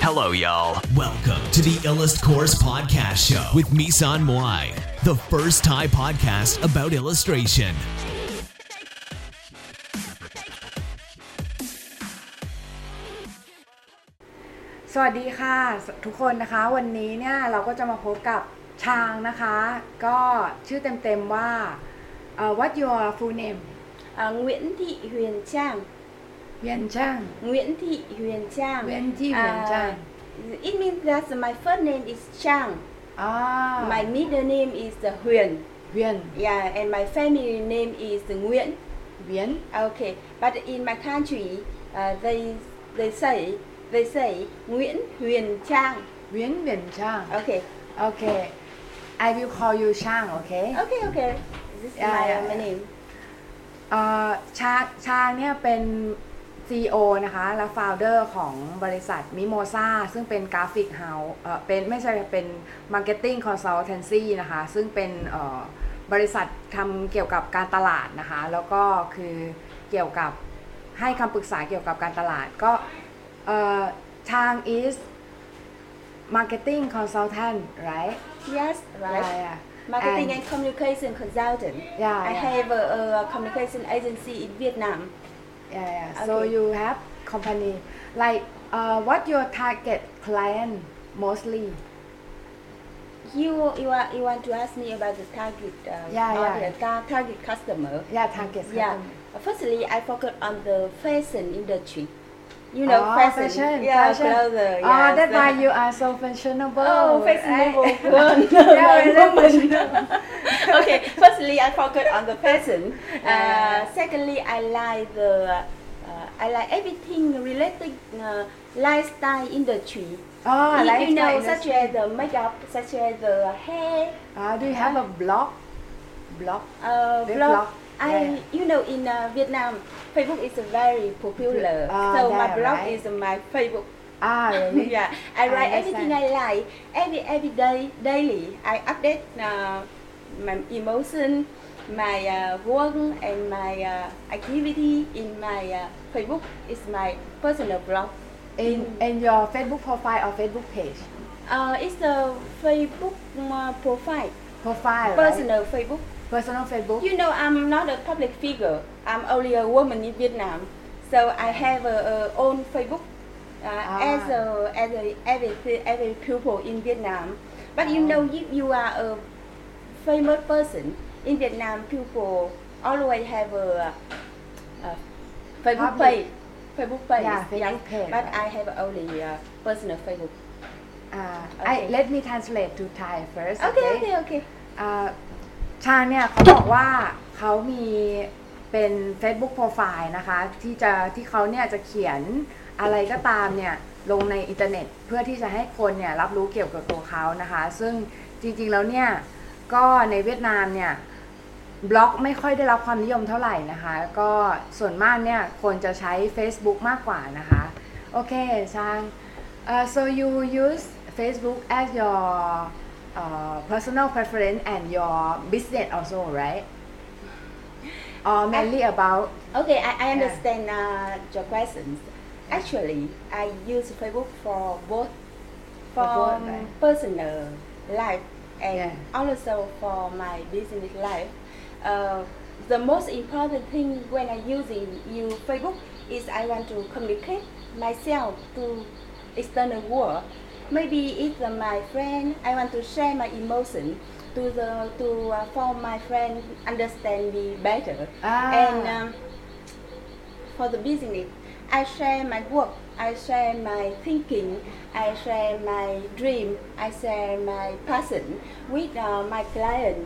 Hello, y'all. Welcome to the Illust Course Podcast Show with Misan Moai, the first Thai podcast about illustration. สวัสดีค่ะทุกคนนะคะวันนี้เนี่ยเราก็จะมาพบกับชางนะคะก็ชื่อเต็มๆว่าWhat your full name Nguyễn Thị Huyền Trang. Huyền Trang. Nguyễn Thị Huyền Trang. Nguyễn Thị Huyền Trang. It means that my first name is Trang. My middle name is Huyền. Huyền. Yeah, and my family name is Nguyễn. Nguyễn. Okay, but in my country, they say Nguyễn Huyền Trang. Nguyễn Huyền Trang. Okay. Okay. I will call you Chang. Okay. Okay. This is my name. ชางเนี่ยเป็น CEO นะคะและ founder ของบริษัท Mimosa ซึ่งเป็นกราฟิกเฮาส์เป็น marketing consultancy นะคะซึ่งเป็นบริษัททำเกี่ยวกับการตลาดนะคะแล้วก็คือเกี่ยวกับให้คำปรึกษาเกี่ยวกับการตลาดก็ชาง is marketing consultant right Yes, right. yeah. Marketing and communication consultant. I have a communication agency in Vietnam. Yeah. Okay. So you have company like what your target client mostly? You want to ask me about the target target customer? Yeah, target customer. Yeah. Firstly, I focus on the fashion industry. You know, fashion. Yeah, clothes. That's why you are so fashionable. Fashionable. Okay. Firstly, I focus on the fashion. Secondly, I like everything related lifestyle industry. You know, such as the makeup, such as the hair. Do you have a blog? Blog. You know, in Vietnam, Facebook is very popular. So my blog is my Facebook. Really? Yeah, I write everything I like. Every day, daily, I update my emotion, my work, and my activity in my Facebook. It's my personal blog. In your Facebook profile or Facebook page? It's the Facebook profile. Profile. Personal right? Facebook. Personal Facebook. You know, I'm not a public figure. I'm only a woman in Vietnam, so I have a own Facebook as every people in Vietnam. But you know, if you are a famous person in Vietnam, people always have a Facebook page. Facebook page. Yeah, Facebook page. But I have only personal Facebook. Okay. Let me translate to Thai first. Okay. ชาเนี่ยเขาบอกว่าเขามีเป็น Facebook Profile นะคะที่เขาเนี่ยจะเขียนอะไรก็ตามเนี่ยลงในอินเทอร์เน็ตเพื่อที่จะให้คนเนี่ยรับรู้เกี่ยวกับตัวเขานะคะซึ่งจริงๆแล้วเนี่ยก็ในเวียดนามเนี่ยบล็อกไม่ค่อยได้รับความนิยมเท่าไหร่นะคะก็ส่วนมากเนี่ยคนจะใช้ Facebook มากกว่านะคะโอเคชางso you use Facebook as your personal preference and your business also, right? Or mainly about... Okay, I understand your questions. Actually, I use Facebook for both right? Personal life and also for my business life. The most important thing when I using Facebook is I want to communicate myself to external world. Maybe it's my friend. I want to share my emotion for my friend understand me better. And for the business, I share my work. I share my thinking. I share my dream. I share my passion with my client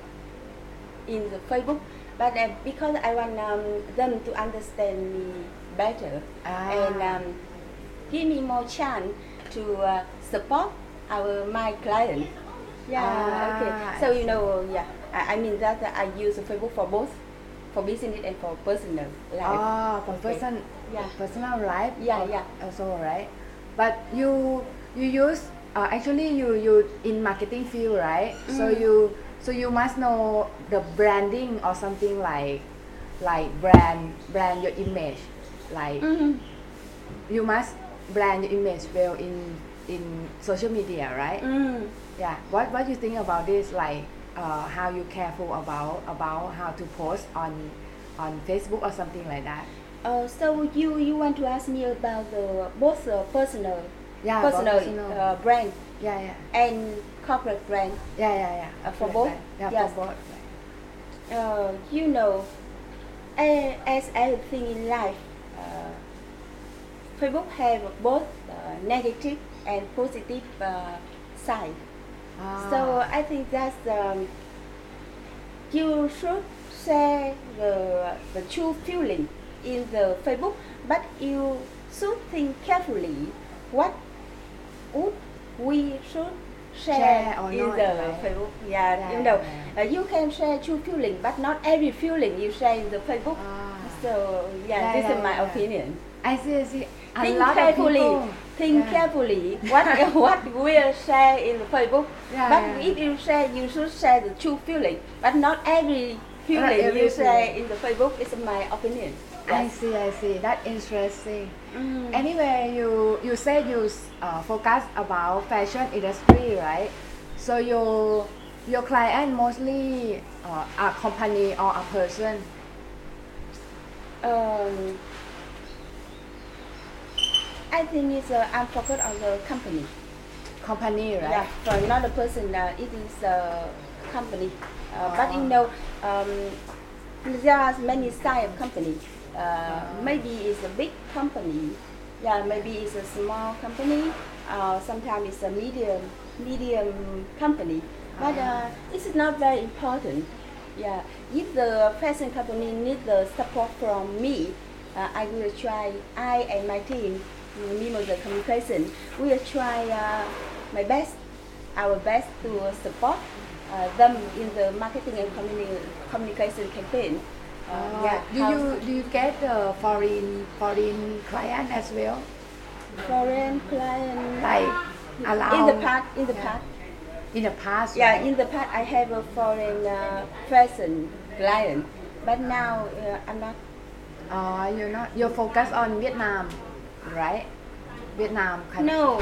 in the Facebook. But because I want them to understand me better and give me more chance to support my client. Okay. So you know, I mean that I use Facebook for both, for business and for personal life. For personal life. Yeah. Also, right? But you use actually you in marketing field, right? So you must know the branding or something like brand your image, like you must brand your image well in social media, right? Yeah. What you think about this? Like how you careful about how to post on Facebook or something like that? So you want to ask me about the both personal Yeah. Personal. brand Yeah. and corporate brand. Yeah. For both? Yeah. Yes. For both. You know, as everything in life, Facebook have both negative and positive side. So I think that's you should share the true feeling in the Facebook, but you should think carefully what would we should share or in not, the right? Facebook. Yeah, you know, you can share true feeling, but not every feeling you share in the Facebook. So this is my opinion. I see. A Think lot carefully. of people. Think carefully what we'll share in the Facebook. But if you share, you should share the true feeling, but not every feeling every you share feeling. in the Facebook. Is my opinion. I see. That's interesting. Anyway, you said you focus about fashion industry, right? So your client mostly a company or a person? I think it's I'm focused on the company. Company, right? Yeah, for not a person. It is a company. But you know, there are many size of company. Maybe it's a big company. Yeah, maybe it's a small company. Sometimes it's a medium company. But this is not very important. Yeah, if the fashion company needs the support from me, I will try. I and my team, Mimosa Communication, we will try our best to support them in the marketing and communication campaign. Do you get foreign client as well? Foreign client Like around in the past. In the past, Yeah, right? in the past I have a foreign fashion client, but now I'm not. You're focused on Vietnam, right? Vietnam country. No,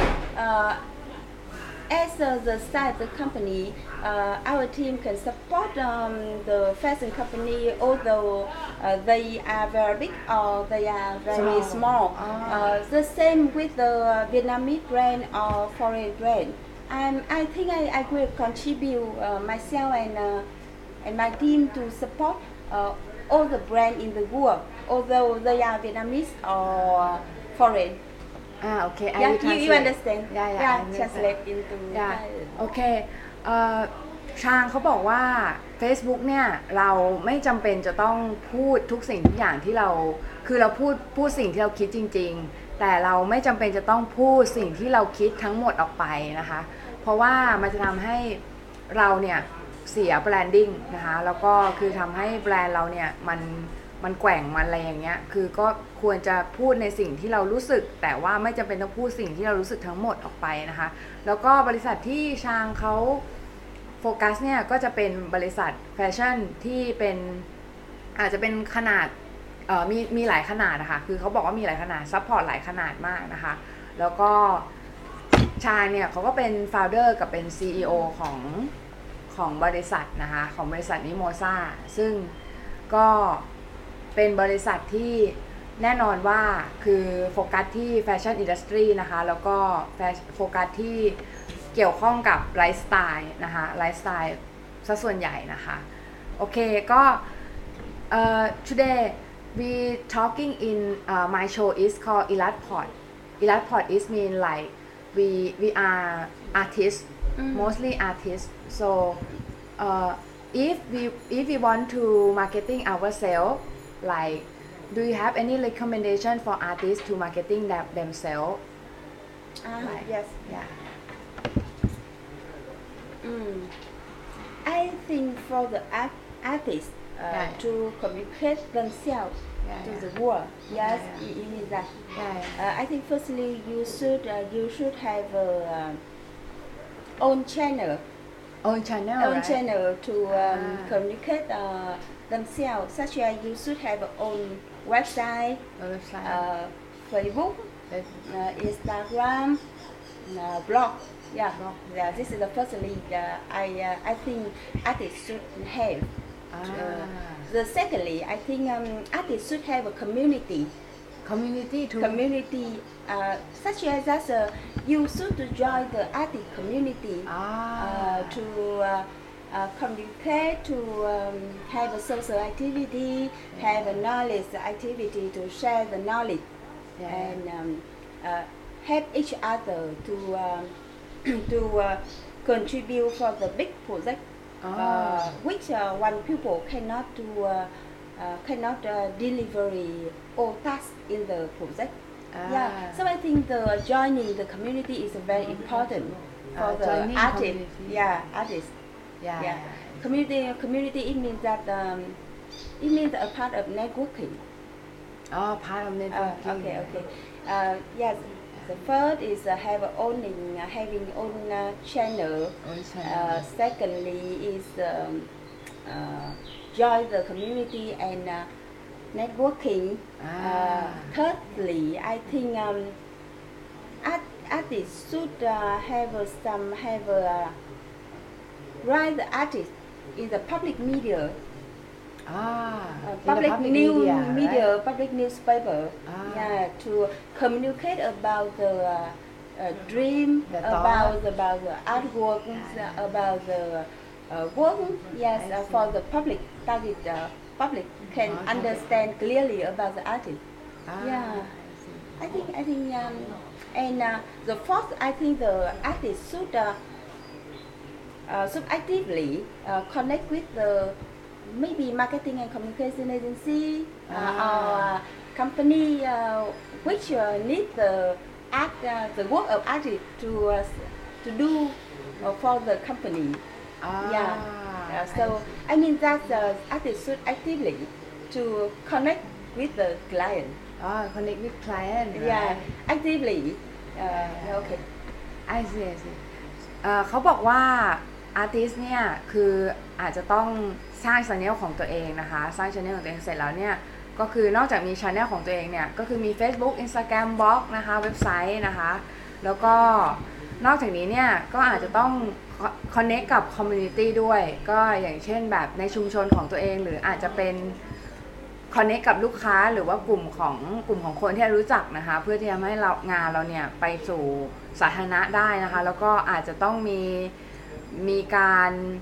as the size of the company, our team can support the fashion company, although they are very big or they are very small. The same with the Vietnamese brand or foreign brand. I think I will contribute myself and my team to support all the brands in the world, although they are Vietnamese or foreign. Okay. I Yeah, will translate. you understand? Yeah, Yeah, I understand. translate into Yeah. Thai. โอเคชางเขาบอกว่า Facebook เนี่ยเราไม่จำเป็นจะต้องพูดทุกสิ่งทุกอย่างที่เราคือเราพูดสิ่งที่เราคิดจริงๆแต่เราไม่จำเป็นจะต้องพูดสิ่งที่เราคิดทั้งหมดออกไปนะคะเพราะว่ามันจะทำให้เราเนี่ยเสียแบรนดิ้งนะคะแล้วก็คือทำให้แบรนด์เราเนี่ยมันแกว่งมันอะไรอย่างเงี้ยคือก็ควรจะพูดในสิ่งที่เรารู้สึกแต่ว่าไม่จำเป็นต้องพูดสิ่งที่เรารู้สึกทั้งหมดออกไปนะคะแล้วก็บริษัทที่ชางเขาโฟกัสเนี่ยก็จะเป็นบริษัทแฟชั่นที่เป็นอาจจะเป็นขนาดมีหลายขนาดนะคะคือเขาบอกว่ามีหลายขนาดซัพพอร์ตหลายขนาดมากนะคะแล้วก็ชางเนี่ยเขาก็เป็นโฟลเดอร์กับเป็น CEO ของบริษัทนะคะของบริษัทนิโมซ่าซึ่งก็เป็นบริษัทที่แน่นอนว่าคือโฟกัสที่แฟชั่นอินดัสทรีนะคะแล้วก็โฟกัสที่เกี่ยวข้องกับไลฟ์สไตล์นะคะไลฟ์สไตล์ซะส่วนใหญ่นะคะโอเคก็today we talking in my show is called Illatpod. Illatpod is mean like we are artists, mostly artists. So if we want to marketing ourselves, like do you have any recommendation for artists to marketing themselves? Yes. Yeah. I think for the artists to communicate themselves to the world. Yes, you mean that. I think firstly you should have own channel. Own channel, Own right? channel to communicate themselves. Such as you should have own website, Facebook, Instagram, blog. Yeah, yeah. This is the firstly. I think artists should have. The secondly, I think artists should have a community. community too Community, such as that you should join the artist community to communicate, to have a social activity, have a knowledge activity to share the knowledge, and help each other to contribute for the big project, which one people cannot do. Cannot deliver all tasks in the project. Yeah, so I think the joining the community is very important for the artist. Community. Yeah, artist. Yeah. Community. It means that it means a part of networking. part of networking Okay. Yes. The first is having own channel. Secondly is join the community and networking. Thirdly, I think artists should write the artist in the public media. Public news media, right? Public newspaper. Yeah, to communicate about the dream, about the artwork, about the work. Yes, for the public, that is the public can understand clearly about the artist. Yeah, I think and the fourth, I think the artist should actively connect with the maybe marketing and communication agency or company which need the work of artist to do for the company. So I mean that the artist should actively to connect with the client. Connect with client. Yeah, actively. Okay. I see. เขาบอกว่าอาร์ติสต์เนี่ยคืออาจจะต้องสร้าง channel ของตัวเองนะคะสร้าง channel ของตัวเองเสร็จแล้วเนี่ยก็คือนอกจากมี channel ของตัวเองเนี่ยก็คือมี Facebook Instagram บล็อกนะคะเว็บไซต์นะคะแล้วก็นอกจากนี้เนี่ยก็อาจจะต้องconnect กับ community ด้วยก็อย่างเช่นแบบในชุมชนของตัวเองหรืออาจจะเป็น connect กับลูกค้าหรือว่ากลุ่มของคนที่รู้จักนะคะเพื่อที่จะให้งานเราเนี่ยไปสู่สาธารณะได้นะคะแล้วก็อาจจะต้องมีการ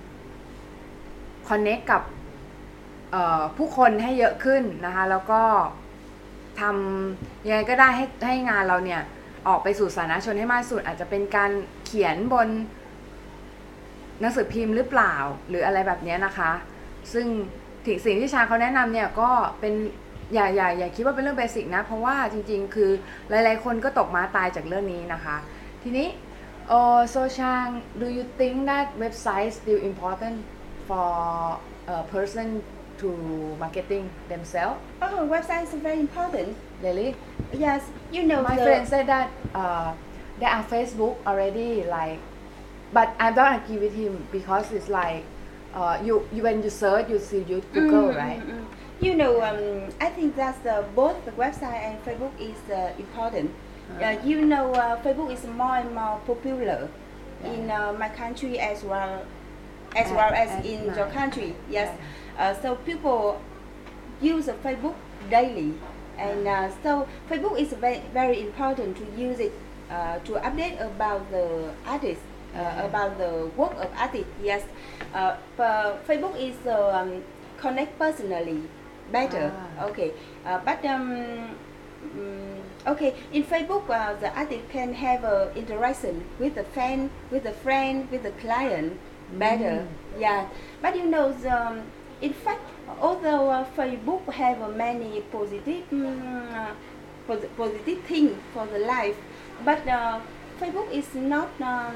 connect กับผู้คนให้เยอะขึ้นนะคะแล้วก็ทำยังไงก็ได้ให้งานเราเนี่ยออกไปสู่สาธารณชนให้มากที่สุดอาจจะเป็นการเขียนบนหนังสือพิมพ์หรือเปล่าหรืออะไรแบบนี้นะคะซึ่งสิ่งที่ชาเขาแนะนำเนี่ยก็เป็นอย่าคิดว่าเป็นเรื่องเบสิกนะเพราะว่าจริงๆคือหลายๆคนก็ตกม้าตายจากเรื่องนี้นะคะทีนี้so Chang, do you think that website is still important for a person to marketing themselves? Website is very important. Really? Yes, you know. My friend said that there are Facebook already like, but I don't agree with him because it's like you when you search you see you Google right? You know, I think that both the website and Facebook is important. You know, Facebook is more and more popular in my country as well as in your country. Yes, so people use Facebook daily, and so Facebook is very important to use it to update about the artist, about the work of artist. Yes, Facebook is connect personally better. Okay, but okay, in Facebook, the artist can have interaction with the fan, with the friend, with the client better. Yeah, but you know, in fact, although Facebook have many positive things for the life, but Facebook is not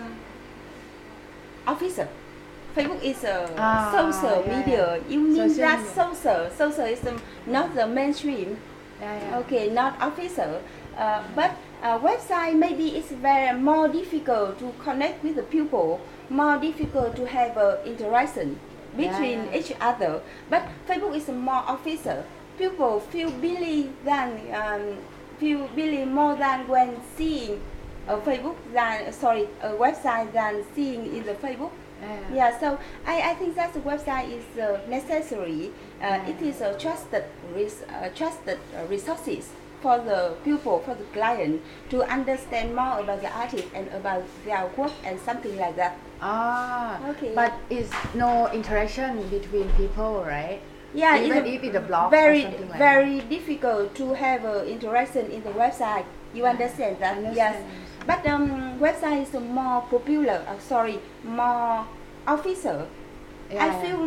official. Facebook is a social media. You mean social that social is not the mainstream. Okay, not official. But website maybe it's very more difficult to connect with the people, more difficult to have interaction between each other. But Facebook is more official. People feel believe than few billion more than when seeing a Facebook a website than seeing in the Facebook. Yeah, so I think that the website is necessary. It is a trusted resources for the people, for the client to understand more about the artist and about their work and something like that. Okay. But it's no interaction between people, right? Yeah, even if it's a blog very, or something like very difficult to have interaction in the website. You understand that? Yes. But website is more popular. More official. Yeah. I feel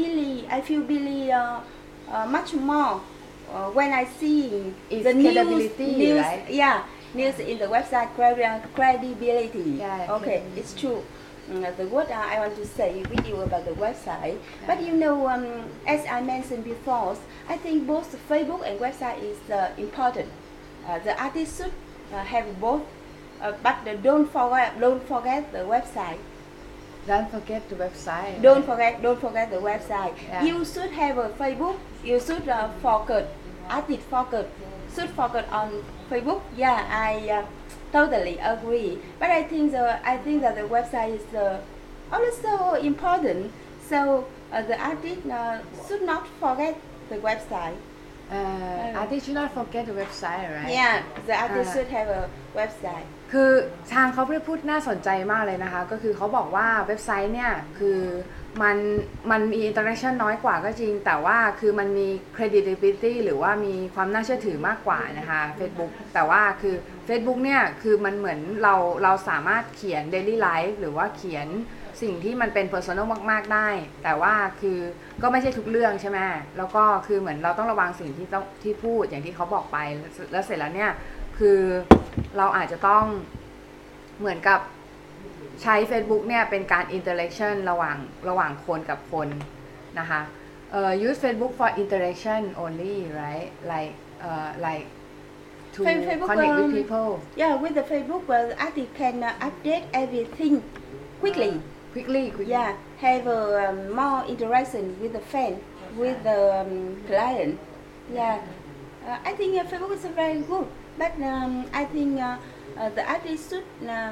really much more when I see It's the credibility, news, right? Yeah, news in the website credibility. Yeah, okay, credibility. it's true. The word I want to say with you about the website, but you know, as I mentioned before, I think both Facebook and website is important. The artist should have both, but don't forget the website. Don't forget the website. Don't forget the website. Yeah. You should have a Facebook. You should focus. Artist should focus on Facebook. Yeah, I totally agree. But I think that the website is also important. So the artist should not forget the website. Artist should not forget the website, right? Yeah, the artist should have a website. คือทางเขาพูดน่าสนใจมากเลยนะคะก็คือเขาบอกว่าเว็บไซต์เนี่ยคือมันมีอินเตอร์แอคชั่นน้อยกว่าก็จริงแต่ว่าคือมันมี credibility หรือว่ามีความน่าเชื่อถือมากกว่านะคะ Facebook แต่ว่าคือ Facebook เนี่ยคือมันเหมือนเราสามารถเขียน daily life หรือว่าเขียนสิ่งที่มันเป็น personal มากๆได้แต่ว่าคือก็ไม่ใช่ทุกเรื่องใช่ไหมแล้วก็คือเหมือนเราต้องระวังสิ่งที่พูดอย่างที่เขาบอกไปแล้วเสร็จแล้วเนี่ยคือเราอาจจะต้องเหมือนกับใช้ Facebook เนี่ยเป็นการ interaction ระหว่างคนกับคนนะคะ use Facebook for interaction only right like to connect with people Yeah, with the Facebook, artist can update everything quickly. Yeah, have more interaction with the fan, with the client. Yeah, I think Facebook is very good, but I think the artist should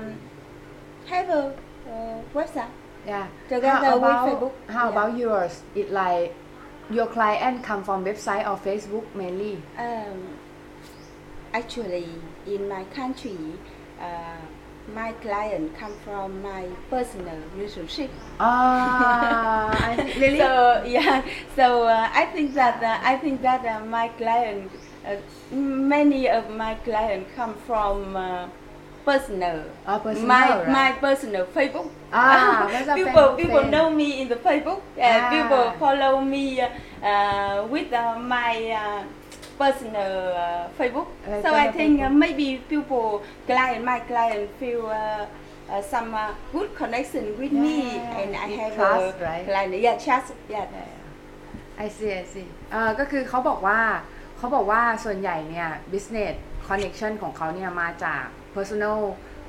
have a website. Yeah. Together with Facebook. How about yours? It like your client come from website or Facebook mainly? Actually, in my country, my client come from my personal relationship. Really? So yeah, so I think that my client, many of my client come from personal. Personal, my right? personal Facebook. People know me in the Facebook. People follow me with my personal Facebook. So I think maybe my client feel some good connection with me, and I have trust, right? Client. Yeah, trust. Yeah. I see. ก็คือเขาบอกว่าส่วนใหญ่เนี่ย business connection ของเขาเนี่ยมาจาก personal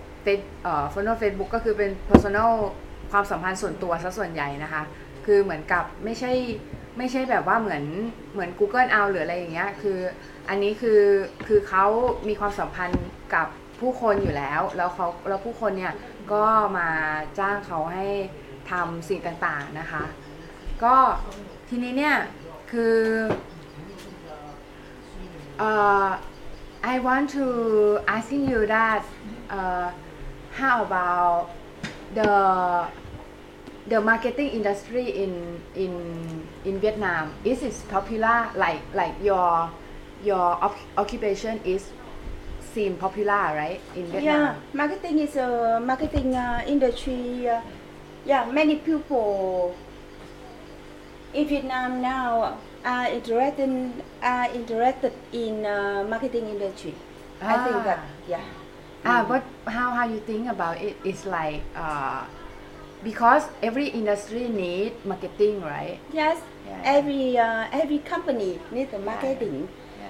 Facebook ก็คือเป็น personal ความสัมพันธ์ส่วนตัวซะส่วนใหญ่นะคะคือเหมือนกับไม่ใช่แบบว่าเหมือน Google เอาหรืออะไรอย่างเงี้ยคืออันนี้คือเขามีความสัมพันธ์กับผู้คนอยู่แล้วผู้คนเนี่ยก็มาจ้างเขาให้ทำสิ่งต่างๆนะคะก็ทีนี้เนี่ยคือ I want to asking you that how about the marketing industry in Vietnam is it popular like your occupation is seem popular right in Vietnam? Yeah, marketing is a marketing industry. Yeah, many people in Vietnam now are interested in marketing industry. I think that But how you think about it? It's like because every industry need marketing, right? Yes, Yeah. every company needs marketing.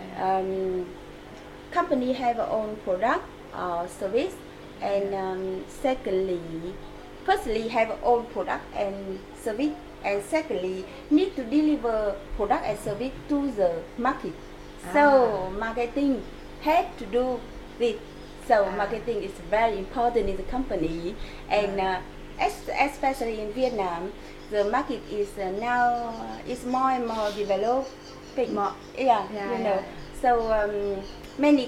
Company have their own product or service, and firstly have own product and service, and secondly need to deliver product and service to the market. So marketing had to do this. So marketing is very important in the company, and especially in Vietnam, the market is now is more and more developed. So many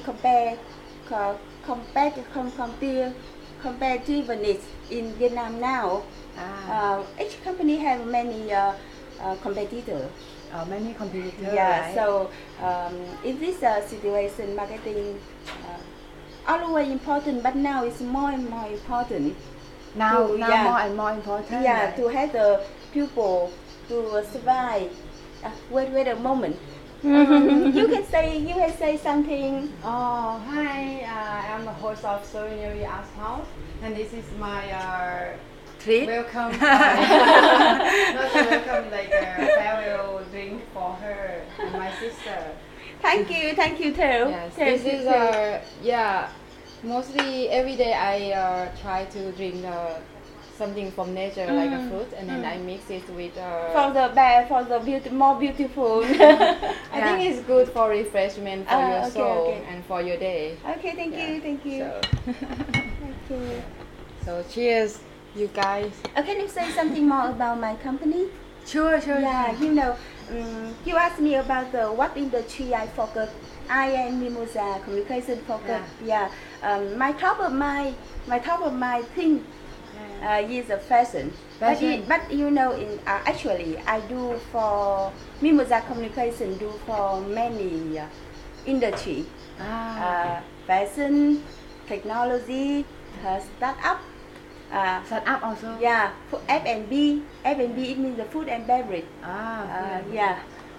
competitiveness in Vietnam now. Each company have many competitors. Many competitors. Yeah. Right? So in this situation, marketing always important, but now it's more and more important. Now more and more important. Yeah, right? to have the people to survive. Wait a moment. You can say something. Oh, hi, I'm the host of Serenity Art House, and this is my Treat. welcome, not a welcome, like a farewell drink for her and my sister. Thank you too. Yes, Thank this you, is too. mostly every day I try to drink something from nature like a fruit, and then I mix it with For the more beautiful. I think it's good for refreshment for your soul and for your day. Okay, thank you. So, Thank you. so cheers, you guys. Can you say something more about my company? Sure. Yeah, you asked me about what industry I focus. I am Mimosa communication focus. Yeah. My top of my thing is a fashion. But actually I do for Mimosa communication do for many industry. Fashion, technology, startup. Startup also. Yeah, F&B it means the food and beverage. Yeah.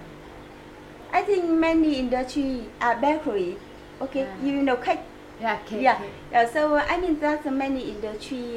I think many industry are bakery. Okay, cake. Yeah, cake. Yeah. So I mean that's many industry.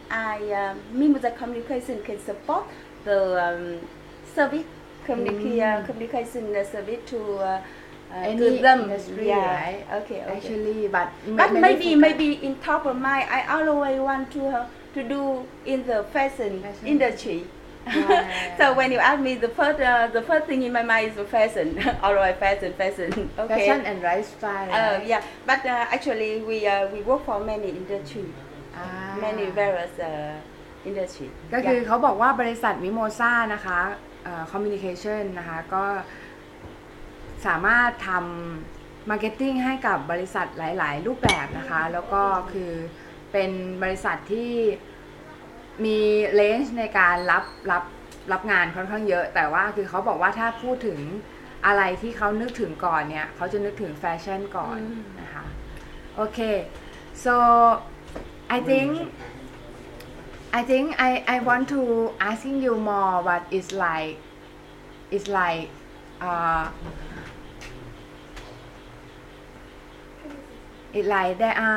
Mimosa communication can support the service communication service to any them. industry, Yeah. right? Okay. Actually, but maybe in top of mind, I always want to do in the fashion industry. So when you ask me, the first thing in my mind is the fashion. Always fashion. Okay. Fashion and lifestyle. Right? Yeah, but actually we work for many industry, many various industry. ก็คือเขาบอกว่าบริษัทมิโมซ่านะคะcommunication นะคะก็สามารถทำมาร์เก็ตติ้งให้กับบริษัทหลายๆรูปแบบนะคะแล้วก็คือเป็นบริษัทที่มีเลนจ์ในการรับงานค่อนข้างเยอะแต่ว่าคือเขาบอกว่าถ้าพูดถึงอะไรที่เขานึกถึงก่อนเนี่ยเขาจะนึกถึงแฟชั่นก่อนนะคะโอเค so I think I want to asking you more what is like it's like it's like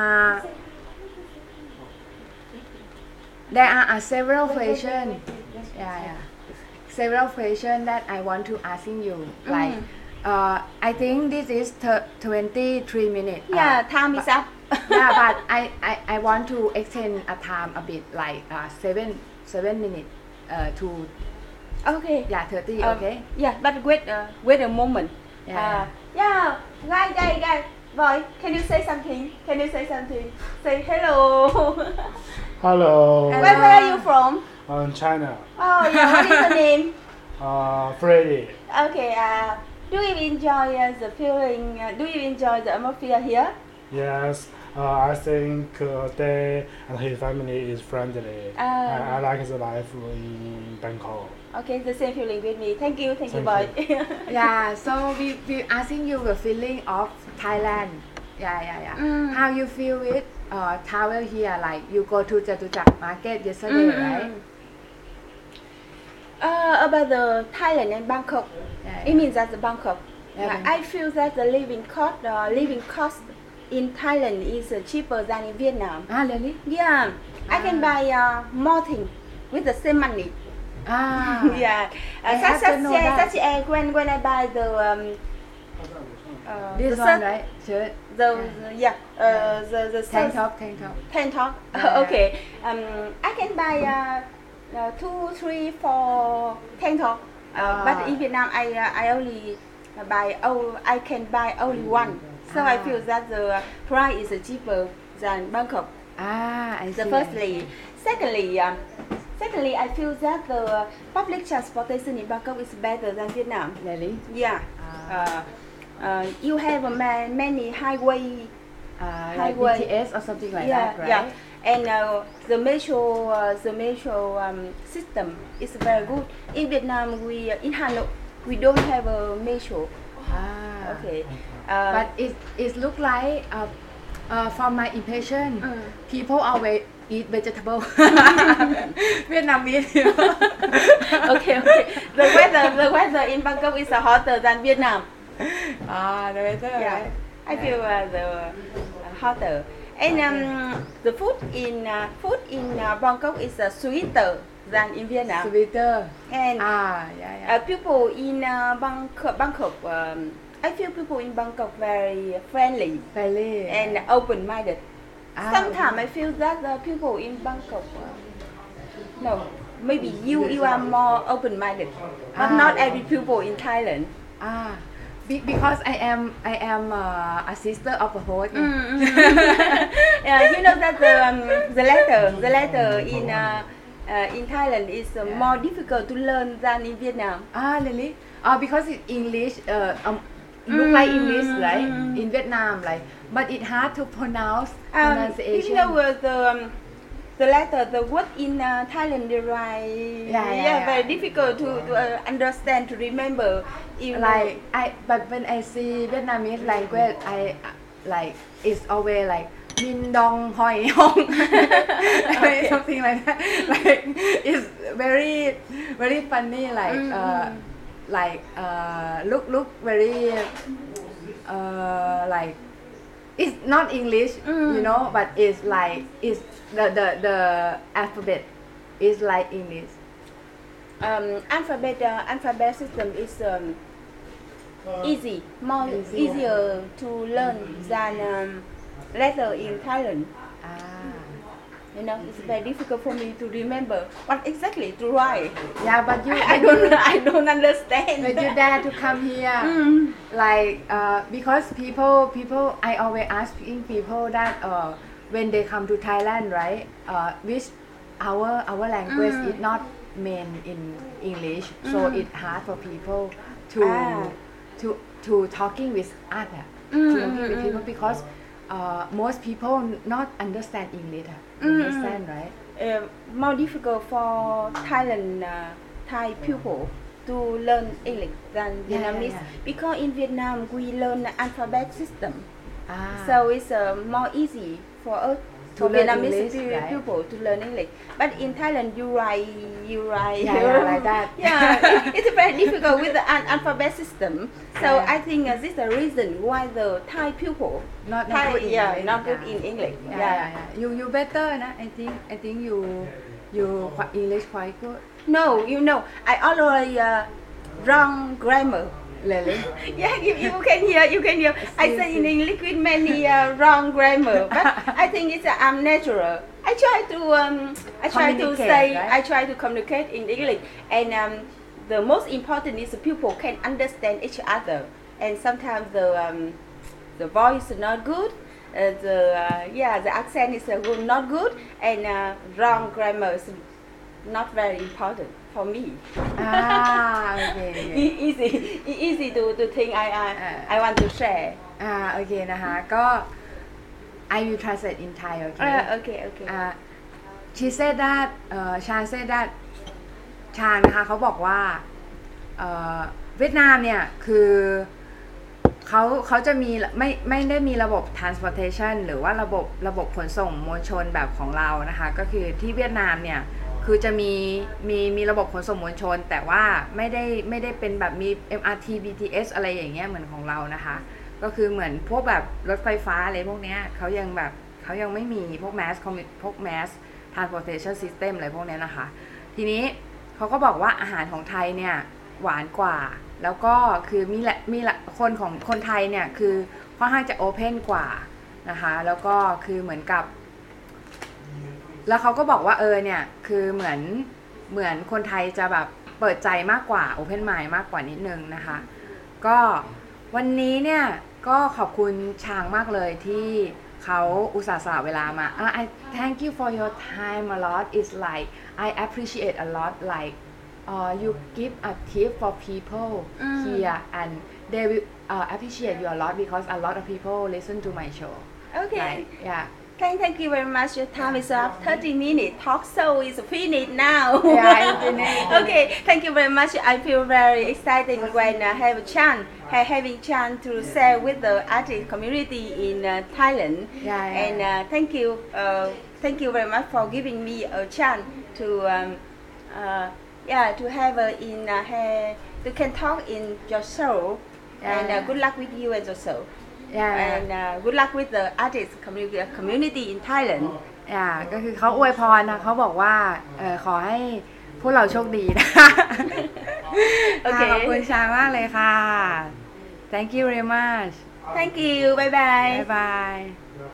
there are several questions. Yeah. Several questions that I want to asking you. Like, I think this is 23 minutes. Yeah, time is up. Yeah, but I want to extend a time a bit, like 7 minutes to. Okay. Yeah, 30. Okay. Yeah, but wait a moment. Yeah. Guys, boy, can you say something? Say hello. Hello. Where are you from? China. Oh yeah, what is the name? Freddy. Okay. Do you enjoy the feeling? Do you enjoy the atmosphere here? Yes. I think they and his family is friendly. I like the life in Bangkok. Okay, the same feeling with me. Thank you, boy. Yeah. So we asking you the feeling of Thailand. Yeah. How you feel with travel here? Like you go to Jatuchak Market yesterday, right? About the Thailand and Bangkok. Yeah. It means that the Bangkok. Yeah, I feel that the living cost in Thailand is cheaper than in Vietnam. Really? Yeah, I can buy more things with the same money. Yeah. Such as when I buy the This the one, shirt, right? Shirt. the Tank shirt, top. tank top. Yeah. Okay. I can buy 2, 3, 4 tank top. But in Vietnam, I only buy. I can buy only one So I feel that the price is cheaper than Bangkok. I see. Firstly, secondly, I feel that the public transportation in Bangkok is better than Vietnam. Really? Yeah. You have many highway. Like BTS or something like that, right? Yeah. And the metro system is very good. In Vietnam, in Hanoi, we don't have a metro. Okay. But it look like from my impression, people always eat vegetable. Vietnamese. Okay. The weather in Bangkok is hotter than Vietnam. The weather. Yeah. Right? I feel the hotter. And the food in Bangkok is sweeter than in Vietnam. Sweeter. And yeah. People in Bangkok, I feel people in Bangkok very friendly and open-minded. Sometimes I feel that the people in Bangkok, no, maybe you are more open-minded, but not every people in Thailand. Because I am a sister of a host. You know that the letter in Thailand is more difficult to learn than in Vietnam. Really? Because it's English. Look like English, right? In Vietnam, like, but it's hard to pronunciation. You know the letter, the word in Thailand, they write. Very difficult to understand, to remember. But when I see Vietnamese language, I like it's always like Min Dong Hoi Hong, something like that. Like it's very funny. Look very like it's not English, you know, but it's like it's the alphabet is like English. Alphabet system is easier to learn than letter in Thailand. You know, it's very difficult for me to remember what exactly to write. Yeah, but I don't understand. But you dare to come here, like because people I always asking people that when they come to Thailand, right? Which our language is not main in English, so it's hard for people to talking with other, talking with people because most people not understand English. Understand, right? More difficult for Thai people to learn English than Vietnamese because in Vietnam we learn the alphabet system, so it's more easy for us. For Vietnamese people to learn English, but in Thailand you write like that. It's very difficult with the alphabet system. So I think this is the reason why the Thai people not good in English. You better, nah? I think you English quite good. No, you know I always wrong grammar. Really? Yeah, you can hear. I say in English with many wrong grammar, but I think it's natural. I try to communicate in English, and the most important is people can understand each other. And sometimes the voice is not good, the accent is not good, and wrong grammar is not very important for me. Okay. Easy to think. I want to share. Okay นะคะก็ I will translate in Thai. Okay. Okay. She said that Chan said that ชางนะคะเขาบอกว่าเวียดนามเนี่ยคือเขาจะมีไม่ได้มีระบบ transportation หรือว่าระบบขนส่งมวลชนแบบของเรานะคะก็คือที่เวียดนามเนี่ยคือจะมีระบบขนส่งมวลชนแต่ว่าไม่ได้เป็นแบบมี MRT BTS อะไรอย่างเงี้ยเหมือนของเรานะคะก็คือเหมือนพวกแบบรถไฟฟ้าอะไรพวกเนี้ยเขายังไม่มีพวก mass transportation system อะไรพวกเนี้ยนะคะทีนี้เขาก็บอกว่าอาหารของไทยเนี่ยหวานกว่าแล้วก็คือมีคนไทยเนี่ยคือค่อนข้างจะ open กว่านะคะแล้วก็คือเหมือนกับแล้วเขาก็บอกว่าเนี่ยคือเหมือนคนไทยจะแบบเปิดใจมากกว่า open mind มากกว่านิดนึงนะคะก็วันนี้เนี่ยก็ขอบคุณช้างมากเลยที่เขาอุตส่าห์สละเวลามา I thank you for your time a lot. It's like I appreciate a lot like you give a tip for people here and they will appreciate you a lot because a lot of people listen to my show. Okay. Like, yeah. Thank you very much. Your time is up. 30 minutes. Talk show is finished now. Yeah, it's finished. Okay. Thank you very much. I feel very excited when I have a chance, having chance to share with the artist community in Thailand. Yeah. And thank you very much for giving me a chance to to have to can talk in your show. And good luck with you and your show. Yeah. And good luck with the artist community in Thailand. ก็คือเขาอวยพรนะเขาบอกว่าขอให้พวกเราโชคดีนะโอเคขอบคุณชามากเลยค่ะ Thank you very much. Thank you. Bye bye. Bye bye.